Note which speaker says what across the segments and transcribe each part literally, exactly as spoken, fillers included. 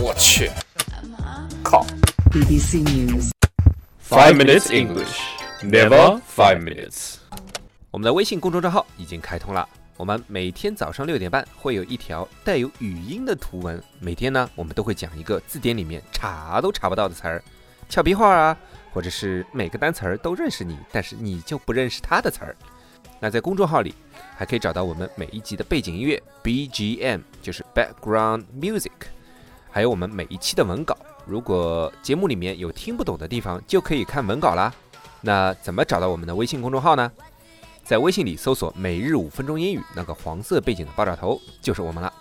Speaker 1: 我去，靠
Speaker 2: B B C News
Speaker 1: ！Five minutes English, never five minutes。
Speaker 3: 我们的微信公众账号已经开通了，我们每天早上六点半会有一条带有语音的图文，每天呢我们都会讲一个字典里面查都查不到的词儿，俏皮话啊，或者是每个单词儿都认识你，但是你就不认识它的词儿。那在公众号里还可以找到我们每一集的背景音乐 B G M， 就是 Background Music， 还有我们每一期的文稿。如果节目里面有听不懂的地方，就可以看文稿啦。那怎么找到我们的微信公众号呢？在微信里搜索每日五分钟英语，那个黄色背景的爆炸头就是我们了。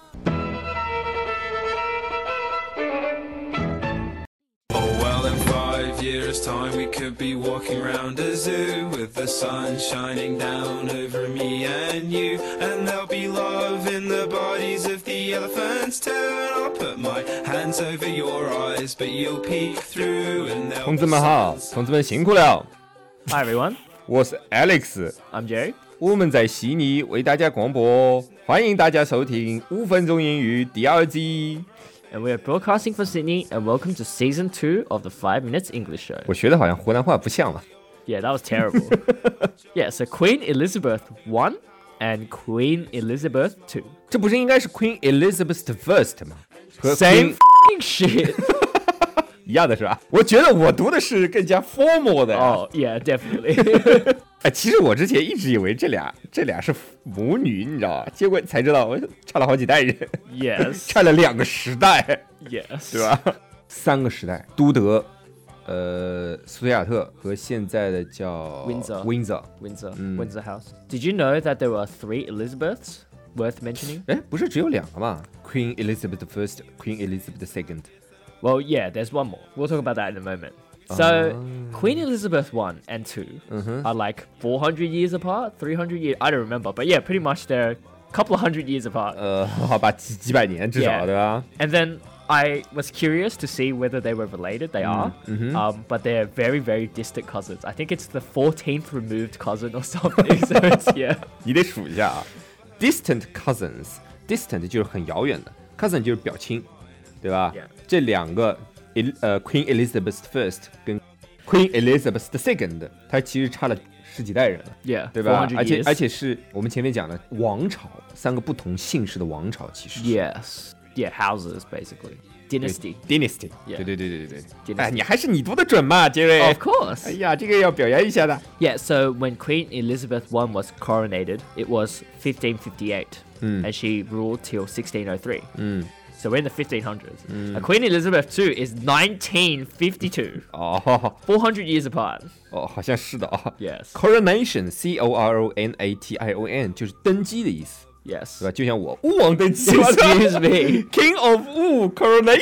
Speaker 4: Years time we could be walking around a zoo with the sun shining down over me and you, and there'll be love in the bodies of the elephants too, and I'll put my hands over your eyes but you'll peek through and they'll
Speaker 1: 同志们好，同志们辛苦了。
Speaker 5: Hi everyone,
Speaker 1: 我是 Alex，
Speaker 5: I'm Jerry.
Speaker 1: 我们在悉尼为大家广播，欢迎大家收听五分钟英语第二季。
Speaker 5: And we are broadcasting from Sydney, and welcome to season two of the Five Minutes English Show.
Speaker 1: 我学的好像湖南话不像了。
Speaker 5: Yeah, that was terrible. Yeah, so Queen Elizabeth the First and Queen Elizabeth the Second.
Speaker 1: 这不是应该是 Queen Elizabeth the First 吗？和
Speaker 5: Same
Speaker 1: Queen
Speaker 5: f***ing shit.
Speaker 1: 一样的是吧？我觉得我读的是更加 formal 的。
Speaker 5: Oh, yeah, definitely.
Speaker 1: 哎，其实我之前一直以为这俩这俩是母女，你知道吧？结果才知道我差了好几代人。
Speaker 5: Yes.
Speaker 1: 差了两个时代。
Speaker 5: Yes.
Speaker 1: 对吧？三个时代，都德、呃，苏菲亚特和现在的叫
Speaker 5: Windsor.
Speaker 1: Windsor。
Speaker 5: Windsor,
Speaker 1: Mm.
Speaker 5: Windsor House. Did you know that there were three Elizabeths worth mentioning?
Speaker 1: 哎，不是只有两个吗 ？Queen Elizabeth the First, Queen Elizabeth the Second。
Speaker 5: Well, yeah, there's one more. We'll talk about that in a moment. So, Queen Elizabeth the First and the Second are like four hundred years apart, three hundred years, I don't remember. But yeah, pretty much they're a couple of hundred years apart.
Speaker 1: 呃，好吧，几几百年至少，
Speaker 5: Yeah.
Speaker 1: 对吧？
Speaker 5: And then I was curious to see whether they were related. They are. Um, but they're very, very distant cousins. I think it's the fourteenth removed cousin or something. So it's, yeah.
Speaker 1: 你得数一下啊 ，distant cousins，distant 就是很遥远的 ，cousin 就是表亲，对吧？
Speaker 5: Yeah.
Speaker 1: 这两个，呃 ，Queen Elizabeth the First 跟 Queen Elizabeth the Second， 它其实差了十几代人了。
Speaker 5: Yeah,
Speaker 1: 对吧？
Speaker 5: four hundred
Speaker 1: 而且
Speaker 5: years.
Speaker 1: 而且是我们前面讲的王朝，三个不同姓氏的王朝，其实是
Speaker 5: Yes. Yeah, houses, basically.
Speaker 1: 对
Speaker 5: Dynasty.
Speaker 1: dynasty。
Speaker 5: Yeah.
Speaker 1: 对对对对对对。
Speaker 5: Dynasty.
Speaker 1: 哎，你还是你读的准嘛，杰瑞。
Speaker 5: Of course.
Speaker 1: 哎呀，这个要表扬一下的。
Speaker 5: Yeah, so when Queen Elizabeth the First was coronated, it was fifteen fifty-eight. And she ruled till sixteen oh three. So we're in the fifteen hundreds. And Queen Elizabeth the Second is nineteen fifty-two.
Speaker 1: 哦
Speaker 5: four hundred years apart.
Speaker 1: 哦，好像是的啊。
Speaker 5: Yes.
Speaker 1: Coronation, C O R O N A T I O N 就是登基的意思，
Speaker 5: Yes.
Speaker 1: 对吧？就像我巫王登基
Speaker 5: Excuse me.
Speaker 1: King of 巫 Coronation 。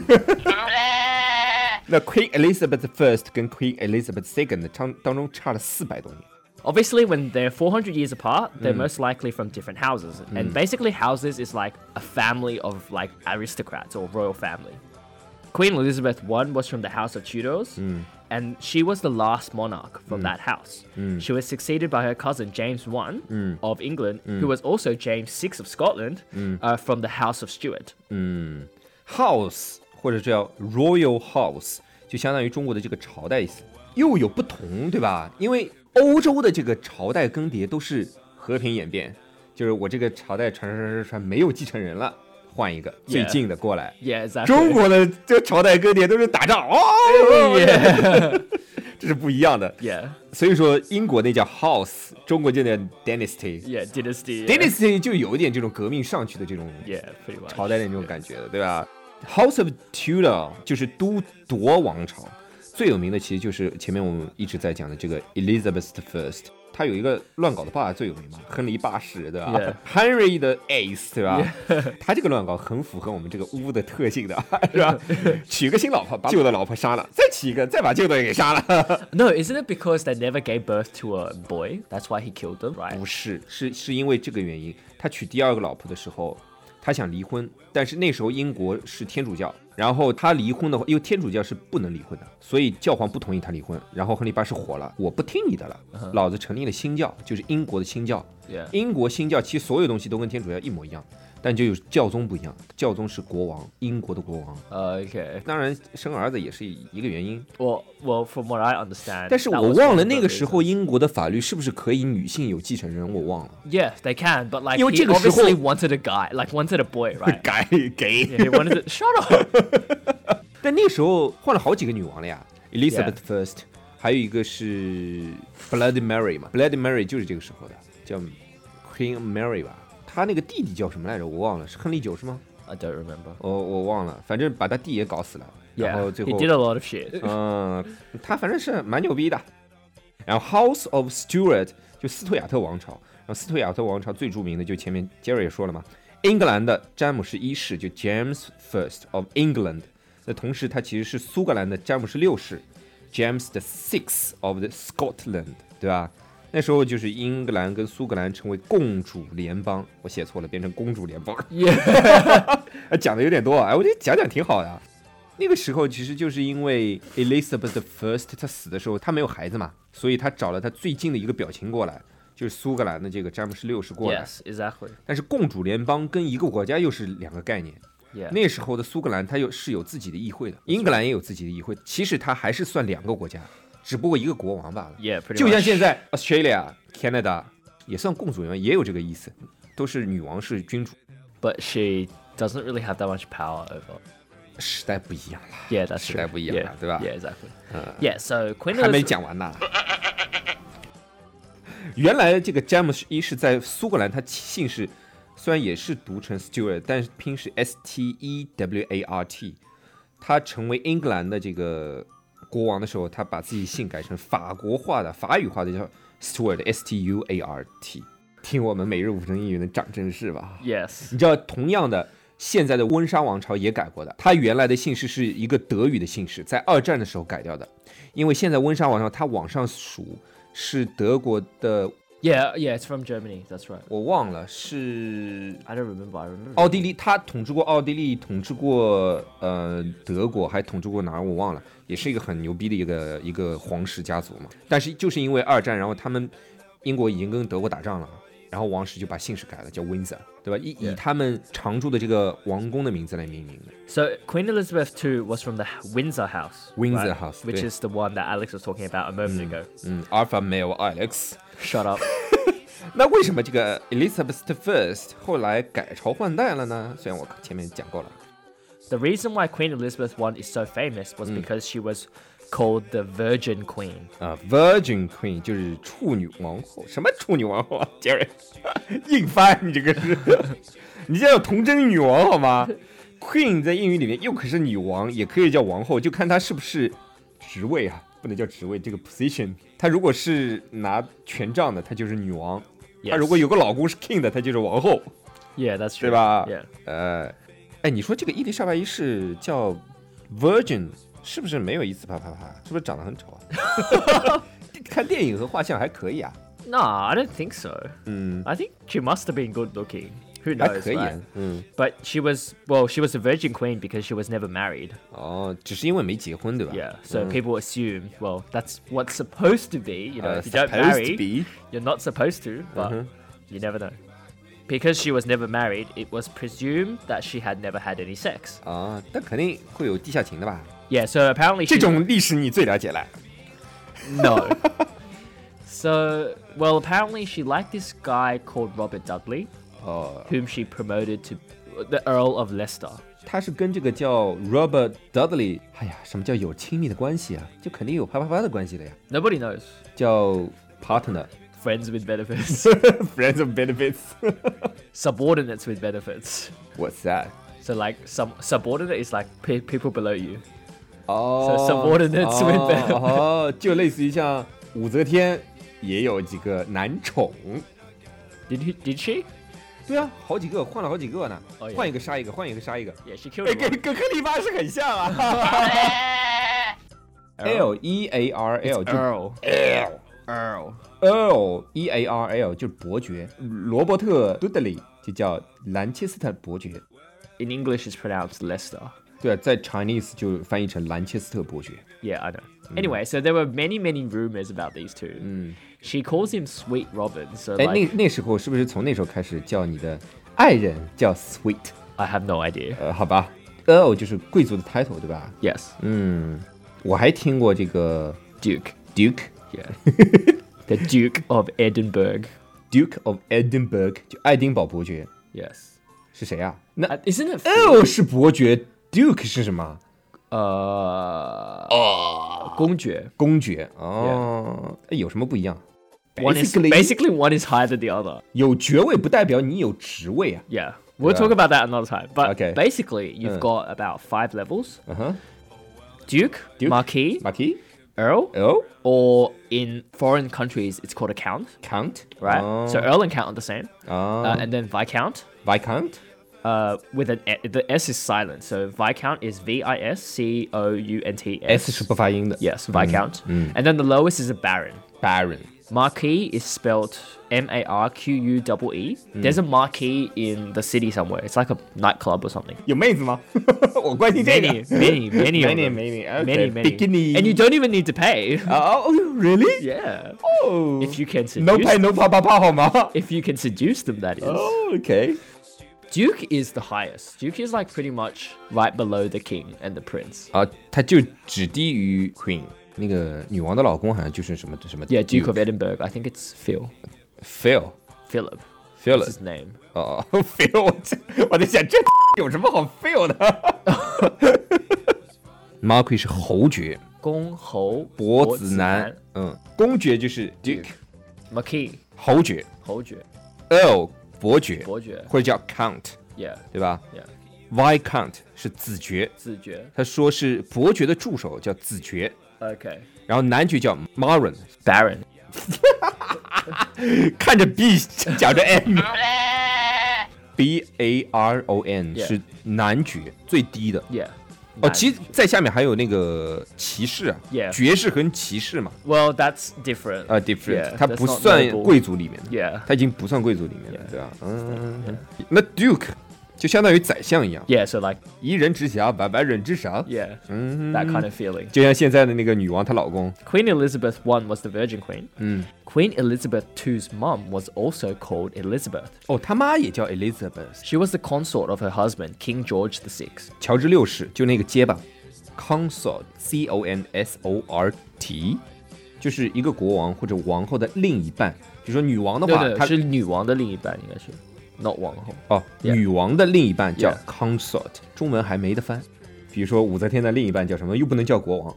Speaker 1: 那 Queen Elizabeth the First 跟 Queen Elizabeth the Second 当当中差了四百多年。
Speaker 5: Obviously, when they're four hundred years apart, they're most likely from different houses. And basically, houses is like a family of like aristocrats or royal family. Queen Elizabeth the First was from the House of Tudors, and she was the last monarch from that house. She was succeeded by her cousin James the First of England, who was also James the Sixth of Scotland, uh, from the House of Stuart.
Speaker 1: House 或者叫 Royal House 就相当于中国的这个朝代意思，又有不同，对吧？因为欧洲的这个朝代更迭都是和平演变，就是我这个朝代传传传传传没有继承人了，换一个最近的过来。
Speaker 5: Yeah, exactly.
Speaker 1: 中国的这个朝代更迭都是打仗，哦，
Speaker 5: Yeah.
Speaker 1: 这是不一样的。
Speaker 5: Yeah.
Speaker 1: 所以说英国那叫 House， 中国就叫 Dynasty。
Speaker 5: Yeah, dynasty. Yeah.
Speaker 1: Dynasty 就有一点这种革命上去的这种
Speaker 5: Yeah, pretty much.
Speaker 1: 朝代的那种感觉的，对吧 ？House of Tudor 就是都铎王朝，最有名的其实就是前面我们一直在讲的这个 Elizabeth the First， 他有一个乱搞的爸爸最有名嘛，亨利八世，对吧
Speaker 5: Yeah.
Speaker 1: ？Henry 的 Eighth， 对吧？ Yeah. 他这个乱搞很符合我们这个巫的特性的，是吧？娶个新老婆，把旧的老婆杀了，再娶一个，再把旧的给杀了。
Speaker 5: No, isn't it because they never gave birth to a boy? That's why he killed them, right?
Speaker 1: 不是，是是因为这个原因，他娶第二个老婆的时候，他想离婚，但是那时候英国是天主教，然后他离婚的话，因为天主教是不能离婚的，所以教皇不同意他离婚。然后亨利八世火了，我不听你的了，
Speaker 5: Uh-huh.
Speaker 1: 老子成立了新教，就是英国的新教。
Speaker 5: Yeah.
Speaker 1: 英国新教其实所有东西都跟天主教一模一样， 但就有教宗不一样，教宗是国王，英国的国王。
Speaker 5: Okay.
Speaker 1: 当然生儿子也是一个原因，
Speaker 5: Well, well, from what I understand.
Speaker 1: 但是
Speaker 5: that
Speaker 1: 我
Speaker 5: was
Speaker 1: 忘
Speaker 5: one
Speaker 1: 了
Speaker 5: of
Speaker 1: 那
Speaker 5: the
Speaker 1: 个时候
Speaker 5: reasons.
Speaker 1: 英国的法律是不是可以女性有继承人，我忘了。
Speaker 5: Yeah, they can, but like
Speaker 1: 因为
Speaker 5: he
Speaker 1: 这个时候-
Speaker 5: obviously wanted a guy, like wanted a boy, right?
Speaker 1: 改给
Speaker 5: Yeah, he wanted to. Shut up.
Speaker 1: 但那时候换了好几个女王了呀 ，Elizabeth First， 还有一个是 Bloody Mary 嘛 ，Bloody Mary 就是这个时候的，叫 Queen Mary 吧。她那个弟弟叫什么来着？我忘了，是亨利九是吗？
Speaker 5: I don't remember.
Speaker 1: 我我忘了，反正把他弟也搞死了。然
Speaker 5: Yeah,
Speaker 1: 后最
Speaker 5: he
Speaker 1: 后
Speaker 5: did a lot of shit.
Speaker 1: 嗯，他反正是蛮牛逼的。然后 House of Stuart 就斯图亚特王朝，然后斯图亚特王朝最著名的就前面 Jerry 也说了嘛，英格兰的詹姆士一世就 James First of England， 那同时他其实是苏格兰的詹姆士六世 James the Sixth of the Scotland， 对吧？那时候就是英格兰跟苏格兰成为共主联邦，我写错了，变成公主联邦。
Speaker 5: Yeah.
Speaker 1: 讲的有点多啊，哎，我觉得讲讲挺好的。那个时候其实就是因为 Elizabeth First 她死的时候她没有孩子嘛，所以她找了她最近的一个表亲过来，就是苏格兰的这个詹姆士六世过来。
Speaker 5: Yes, exactly.
Speaker 1: 但是共主联邦跟一个国家又是两个概念。
Speaker 5: Yeah.
Speaker 1: 那时候的苏格兰它有是有自己的议会的，英格兰也有自己的议会，其实它还是算两个国家，只不过一个国王罢了。
Speaker 5: Yeah, pretty
Speaker 1: 就像
Speaker 5: much.
Speaker 1: 现在 Australia、Canada 也算共主联邦，也有这个意思，都是女王是君主。
Speaker 5: But she doesn't really have that much power over.
Speaker 1: 时代不一样了，
Speaker 5: Yeah, that's
Speaker 1: 时
Speaker 5: true.
Speaker 1: 代不一样了，
Speaker 5: Yeah,
Speaker 1: 对吧？
Speaker 5: Yeah, exactly. Yeah, so Queen
Speaker 1: 还没
Speaker 5: Elizabeth.
Speaker 1: 讲完呢。原来这个詹姆斯一世在苏格兰，他姓氏虽然也是读成 Stuart， 但是拼是 S T E W A R T。他成为英格兰的这个国王的时候，他把自己姓改成法国化的、法语化的，叫 Stuart S T U A R T。听我们每日五分英语的长知识吧。
Speaker 5: Yes.
Speaker 1: 你知道，同样的，现在的温莎王朝也改过的。它原来的姓氏是一个德语的姓氏，在二战的时候改掉的。因为现在温莎王朝它往上数是德国的，
Speaker 5: Yeah, yeah, it's from Germany. That's right.
Speaker 1: 我忘了是
Speaker 5: I don't remember. I remember.
Speaker 1: 奥地利，他统治过奥地利，统治过呃德国，还统治过哪儿我忘了，也是一个很牛逼的一个一个皇室家族嘛。但是就是因为二战，然后他们英国已经跟德国打仗了。然后王室就把姓氏改了，叫 Windsor， 对吧？以以他们常住的这个王宫的名字来命名的。
Speaker 5: So Queen Elizabeth the Second was from the Windsor House.
Speaker 1: Windsor
Speaker 5: right?
Speaker 1: House,
Speaker 5: which
Speaker 1: 对。
Speaker 5: is the one that Alex was talking about a moment ago.
Speaker 1: 嗯 ，Alpha Male Alex。
Speaker 5: Shut up.
Speaker 1: 那为什么这个 Elizabeth First 后来改朝换代了呢？虽然我前面讲过了。
Speaker 5: The reason why Queen Elizabeth the First is so famous was because she was called the Virgin Queen.
Speaker 1: 啊、uh, ，Virgin Queen 就是处女王后。什么处女王后啊，Jerry？ 硬翻，你这个是，你这叫童贞女王好吗 ？Queen 在英语里面又可是女王，也可以叫王后，就看她是不是职位啊，不能叫职位，这个 position。她如果是拿权杖的，她就是女王；
Speaker 5: Yes.
Speaker 1: 她如果有个老公是 king 的，她就是王后，
Speaker 5: Yeah, that's true.
Speaker 1: 对吧？
Speaker 5: Yeah.
Speaker 1: 呃，哎，你说这个伊丽莎白一世叫 Virgin。是不是没有一次啪啪啪？是不是长得很丑啊？看电影和画像还可以啊。
Speaker 5: No, I don't think so.
Speaker 1: 嗯，
Speaker 5: I think she must have been good looking. Who
Speaker 1: 还
Speaker 5: knows?
Speaker 1: 可以啊
Speaker 5: Right?
Speaker 1: 嗯，
Speaker 5: But she was, well, she was a Virgin Queen because she was never married.
Speaker 1: 哦，只是因为没结婚，对吧
Speaker 5: Yeah, so
Speaker 1: 嗯
Speaker 5: people assume, well, that's what's supposed to be. You know,
Speaker 1: 呃
Speaker 5: if you don't
Speaker 1: supposed to
Speaker 5: marry,
Speaker 1: be
Speaker 5: you're not supposed to, but
Speaker 1: Mhm.
Speaker 5: you never know. Because she was never married, it was presumed that she had never had any sex.
Speaker 1: 啊，但肯定会有地下情的吧？
Speaker 5: Yeah, so apparently
Speaker 1: 这
Speaker 5: she
Speaker 1: 种历史你最了解了。
Speaker 5: no. So, well, apparently she liked this guy called Robert Dudley,
Speaker 1: 哦，
Speaker 5: whom she promoted to the Earl of Leicester.
Speaker 1: 他是跟这个叫 Robert Dudley，哎呀，什么叫有亲密的关系啊？就肯定有啪啪啪的关系了呀，
Speaker 5: Nobody knows.
Speaker 1: 叫 partner，friends
Speaker 5: Friends with benefits.
Speaker 1: of benefits。
Speaker 5: Subordinates with benefits.
Speaker 1: What's that？
Speaker 5: So, like, some subordinate is like pe- people below you.
Speaker 1: 哦
Speaker 5: So subordinates with
Speaker 1: 哦
Speaker 5: benefits.
Speaker 1: 哦，就类似于像武则天也有几个男宠。
Speaker 5: Did he? Did she?
Speaker 1: 对啊，好几个，换了好几个呢，
Speaker 5: Oh, yeah.
Speaker 1: 换一个杀一个，换一个杀一个，
Speaker 5: Yeah, she killed
Speaker 1: 哎，
Speaker 5: him.
Speaker 1: 跟跟克利巴是很像啊。L E A R L 就
Speaker 5: Earl.
Speaker 1: L
Speaker 5: Earl.
Speaker 1: Earl E A R L 就是伯爵，罗伯特·杜德利就叫兰切斯特伯爵。
Speaker 5: In English, it's pronounced Leicester.
Speaker 1: 对啊，在 Chinese 就翻译成兰切斯特伯爵。
Speaker 5: Yeah, I know. Anyway, so there were many, many rumors about these two. She calls him Sweet Robin. So
Speaker 1: 哎，
Speaker 5: like,
Speaker 1: 那那时候是不是从那时候开始叫你的爱人叫 sweet，
Speaker 5: I have no idea.
Speaker 1: 呃，好吧 ，Earl 就是贵族的 title， 对吧？
Speaker 5: Yes.
Speaker 1: 嗯，我还听过这个
Speaker 5: Duke.
Speaker 1: Duke
Speaker 5: Yeah. The Duke of Edinburgh.
Speaker 1: Duke of Edinburgh， 就爱丁堡伯爵
Speaker 5: Yes.
Speaker 1: 是谁啊？那
Speaker 5: Uh, isn't it?
Speaker 1: Earl 是伯爵 ，Duke 是什么？
Speaker 5: Uh, oh. 公爵.
Speaker 1: 公爵哦，哎有什么不一样
Speaker 5: One is
Speaker 1: Basically-
Speaker 5: basically one is higher than the other.
Speaker 1: 有爵位不代表你有职位啊。
Speaker 5: Yeah. We'll
Speaker 1: Yeah.
Speaker 5: talk about that another time. But
Speaker 1: Okay.
Speaker 5: basically, you've
Speaker 1: Uh.
Speaker 5: got about five levels:
Speaker 1: 嗯哼
Speaker 5: Duke,
Speaker 1: Duke.
Speaker 5: Marquis,
Speaker 1: ，Marquis，
Speaker 5: Earl,
Speaker 1: Earl，
Speaker 5: or in foreign countries, it's called a Count,
Speaker 1: Count，
Speaker 5: right?
Speaker 1: 哦
Speaker 5: So Earl and Count are the same.
Speaker 1: 啊
Speaker 5: Uh, and then Viscount,
Speaker 1: Viscount，
Speaker 5: uh, with an e- the S is silent. So Viscount is V I S C O U N T S.
Speaker 1: S 是不发音的
Speaker 5: Yes, Viscount. And then the lowest is a Baron.
Speaker 1: Baron，
Speaker 5: Marquis is spelled M A R Q U E E. There's a marquee in the city somewhere. It's like a nightclub or something.
Speaker 1: 有妹子吗？我关心这个
Speaker 5: Many, many, many, of
Speaker 1: Many,
Speaker 5: them.
Speaker 1: many, okay.
Speaker 5: many, many.
Speaker 1: Bikini.
Speaker 5: And you don't even need to pay.
Speaker 1: 哦哦，really？
Speaker 5: Yeah.
Speaker 1: 哦
Speaker 5: If you can
Speaker 1: no
Speaker 5: seduce,
Speaker 1: pay no 啪啪啪好吗？
Speaker 5: if you can seduce them, that is.
Speaker 1: 哦 OK，
Speaker 5: Duke is the highest. Duke is like pretty much right below the king and the prince.
Speaker 1: 啊，他就只低于 Queen， 那个女王的老公好像就是什么什么
Speaker 5: Yeah, Duke of Edinburgh. I think it's Phil.
Speaker 1: Phil
Speaker 5: Philip.
Speaker 1: Philip
Speaker 5: That's his name.
Speaker 1: 哦 Phil， 我这我在想这有什么好 Phil 的 ？Marquis 是侯爵，
Speaker 5: 公侯
Speaker 1: 伯子男，嗯，公爵就是 Duke，
Speaker 5: Marquis
Speaker 1: 侯爵
Speaker 5: 侯爵
Speaker 1: ，Earl 伯爵，
Speaker 5: 伯爵
Speaker 1: 或者叫 Count，
Speaker 5: Yeah
Speaker 1: 对吧
Speaker 5: yeah
Speaker 1: ？Viscount 是子爵，
Speaker 5: 子爵
Speaker 1: 他说是伯爵的助手叫子爵，
Speaker 5: Okay
Speaker 1: 然后男爵叫 Baron，
Speaker 5: Baron
Speaker 1: 看着 B 讲着 M，B A R O N
Speaker 5: Yeah
Speaker 1: 是男爵最低的。
Speaker 5: Yeah
Speaker 1: 哦，其实在下面还有那个骑士啊
Speaker 5: Yeah
Speaker 1: 爵士和骑士嘛，
Speaker 5: Well that's different
Speaker 1: 啊 different，
Speaker 5: Yeah
Speaker 1: 他
Speaker 5: that's
Speaker 1: 不
Speaker 5: not
Speaker 1: 算
Speaker 5: noble
Speaker 1: 贵族里面的，
Speaker 5: Yeah
Speaker 1: 他已经不算贵族里面了，
Speaker 5: Yeah
Speaker 1: 对吧？嗯，那 Duke 就相当于宰相一样，
Speaker 5: Yeah so like
Speaker 1: 一人之下，百百人之上，
Speaker 5: Yeah
Speaker 1: 嗯，
Speaker 5: that kind of feeling
Speaker 1: 就像现在的那个女王她老公，
Speaker 5: Queen Elizabeth the First was the Virgin Queen
Speaker 1: 嗯，
Speaker 5: Queen Elizabeth the Second's mom was also called Elizabeth.
Speaker 1: 哦，他妈也叫 Elizabeth，
Speaker 5: She was the consort of her husband, King George the Sixth.
Speaker 1: 乔治六世，就那个结巴 ，consort C O N S O R T， 就是一个国王或者王后的另一半。比如说女王的话，她
Speaker 5: 是女王的另一半，应该是 not 王后。
Speaker 1: 哦，
Speaker 5: Yeah
Speaker 1: 女王的另一半叫
Speaker 5: Yeah
Speaker 1: consort， 中文还没得翻。比如说武则天的另一半叫什么，又不能叫国王。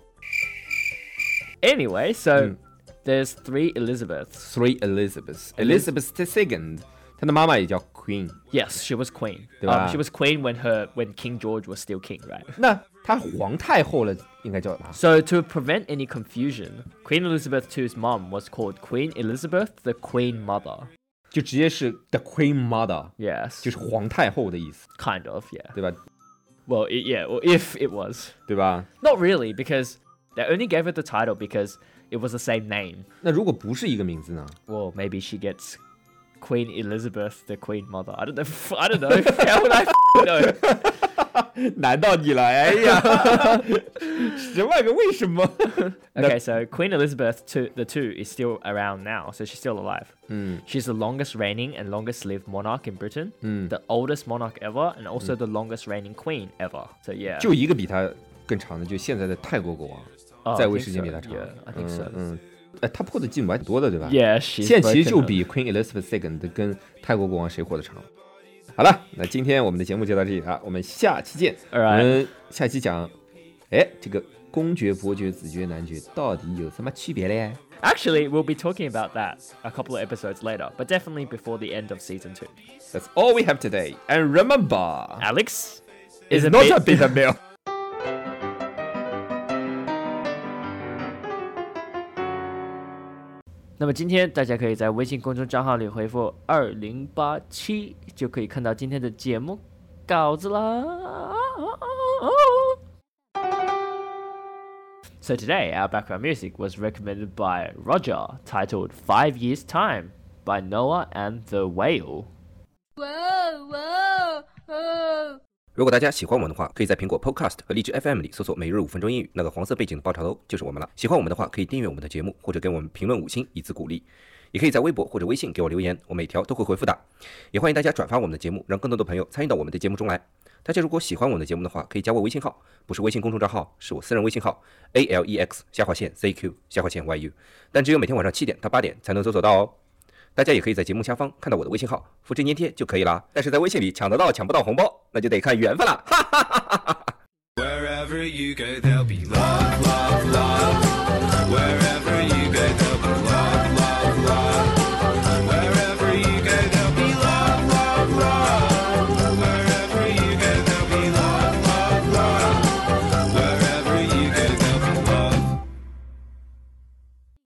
Speaker 5: Anyway, so there's three Elizabeths.
Speaker 1: Three Elizabeths, Elizabeth the Second， 她的妈妈也叫 Queen。
Speaker 5: Yes, she was queen.
Speaker 1: 对吧？
Speaker 5: Um, she was queen when her when King George was still king, right?
Speaker 1: 那她皇太后了，应该叫啥？
Speaker 5: So to prevent any confusion, Queen Elizabeth the Second's mom was called Queen Elizabeth the Queen Mother.
Speaker 1: 就直接是 the Queen Mother，
Speaker 5: Yes,
Speaker 1: 就是皇太后的意思，
Speaker 5: kind of, yeah.
Speaker 1: 对吧？
Speaker 5: Well, it, yeah, well, if it was.
Speaker 1: 对吧？
Speaker 5: Not really, because they only gave her the title because it was the same name.
Speaker 1: 那如果不是一个名字呢？
Speaker 5: Well, maybe she gets Queen Elizabeth the Queen Mother. I don't know. I don't know. How would I know?
Speaker 1: 难到你了，哎呀，十万个为什么？
Speaker 5: Okay, so Queen Elizabeth two, the two is still around now, so she's still alive. She's the longest reigning and longest lived monarch in Britain, the oldest monarch ever, and also the longest reigning queen ever. So yeah.
Speaker 1: 就一个比他更长的，就现在的泰国国
Speaker 5: Oh,
Speaker 1: 王，
Speaker 5: I
Speaker 1: 在位
Speaker 5: think
Speaker 1: 时间
Speaker 5: so.
Speaker 1: 比他长。
Speaker 5: Yeah, I think so.
Speaker 1: 嗯嗯，哎，他破的记录还挺多的，对吧
Speaker 5: Yeah, she's
Speaker 1: 现在其实
Speaker 5: broken
Speaker 1: 就
Speaker 5: her.
Speaker 1: 比 Queen Elizabeth the Second 跟泰国国王谁活得长。好了，那今天我们的节目就到这里了，我们下期见。
Speaker 5: Alright
Speaker 1: 我们下期讲，哎，这个公爵、伯爵、子爵、男爵到底有什么区别嘞？
Speaker 5: Actually, we'll be talking about that a couple of episodes later, but definitely before the end of season two.
Speaker 1: That's all we have today. And remember,
Speaker 5: Alex
Speaker 1: it's
Speaker 5: is a
Speaker 1: not
Speaker 5: bit-
Speaker 1: a bitter meal.
Speaker 5: 那么今天大家可以在微信公众账号里回复二零八七，就可以看到今天的节目稿子啦。So today our background music was recommended by Roger, titled Five Years Time by Noah and the Whale.
Speaker 6: Whoa, whoa, whoa.
Speaker 3: 如果大家喜欢我们的话，可以在苹果 Podcast 和荔枝 F M 里搜索每日五分钟英语，那个黄色背景的爆炒头就是我们了。喜欢我们的话，可以订阅我们的节目，或者给我们评论五星以资鼓励。 也可以在微博或者微信给我留言，我每条都会回复的。也欢迎大家转发我们的节目，让更多的朋友参与到我们的节目中来。大家如果喜欢我们的节目的话，可以加我微信号，不是微信公众账号，是我私人微信号 A L E X 下划线 Z Q 下划线 Y U， 但只有每天晚上七点到八点才能搜索到哦。大家也可以在节目下方看到我的微信号，复制粘贴就可以了。但是在微信里抢得到抢不到红包，那就得看缘分了。哈哈哈哈哈哈。
Speaker 4: Wherever you go, there'll be love, love, love. Wherever